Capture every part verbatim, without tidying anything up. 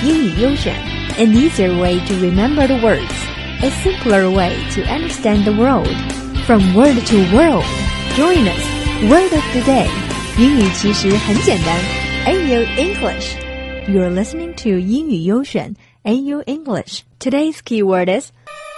英语优选 An easier way to remember the words, a simpler way to understand the world. From word to world, join us. Word of the day. 英语其实很简单 A U English. You're listening to 英语优选 A U English. Today's keyword is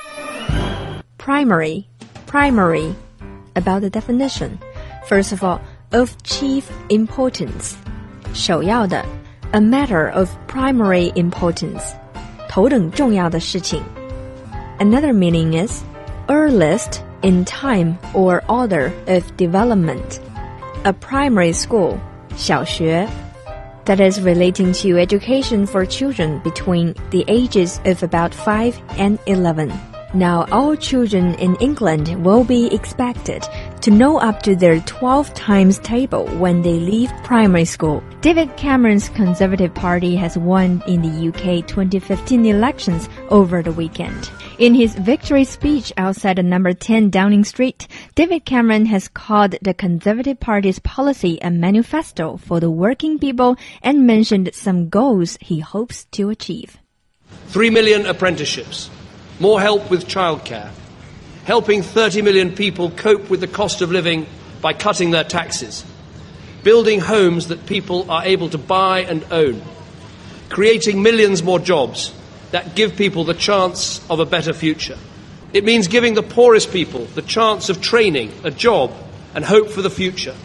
primary. Primary. About the definition. First of all, of chief importance. 首要的 A matter of primary importance. 头等重要的事情 Another meaning is earliest in time or order of development. A primary school, 小学 that is relating to education for children between the ages of about five and eleven. Now all children in England will be expected to know up to their twelve times table when they leave primary school. David Cameron's Conservative Party has won in the U K twenty fifteen elections over the weekend. In his victory speech outside the number ten Downing Street, David Cameron has called the Conservative Party's policy a manifesto for the working people and mentioned some goals he hopes to achieve. Three million apprenticeships, more help with childcare, helping thirty million people cope with the cost of living by cutting their taxes, building homes that people are able to buy and own, creating millions more jobs that give people the chance of a better future. It means giving the poorest people the chance of training, a job, and hope for the future.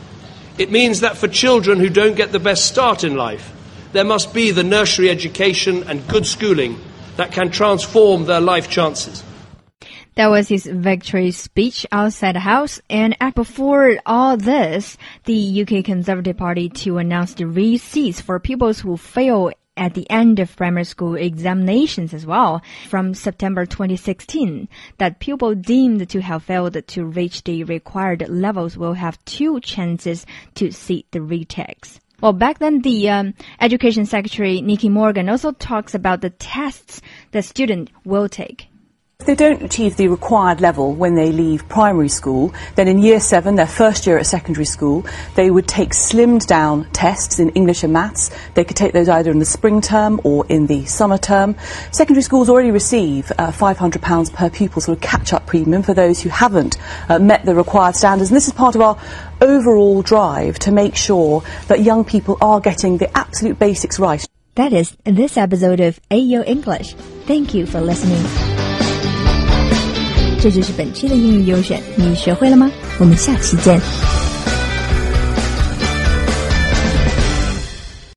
It means that for children who don't get the best start in life, there must be the nursery education and good schooling that can transform their life chances. That was his victory speech outside the House, and before all this, the U K Conservative Party to announce the receipts for pupils who fail at the end of primary school examinations as well from September twenty sixteen, that pupils deemed to have failed to reach the required levels will have two chances to seat the retakes. Well, back then, the um, Education Secretary, Nicky Morgan, also talks about the tests the student will take. If they don't achieve the required level when they leave primary school, then in year seven, their first year at secondary school, they would take slimmed down tests in English and maths. They could take those either in the spring term or in the summer term. Secondary schools already receive uh, five hundred pounds per pupil sort of catch-up premium for those who haven't uh, met the required standards. And this is part of our overall drive to make sure that young people are getting the absolute basics right. That is this episode of A U English. Thank you for listening. 这就是本期的英语优选，你学会了吗？我们下期见。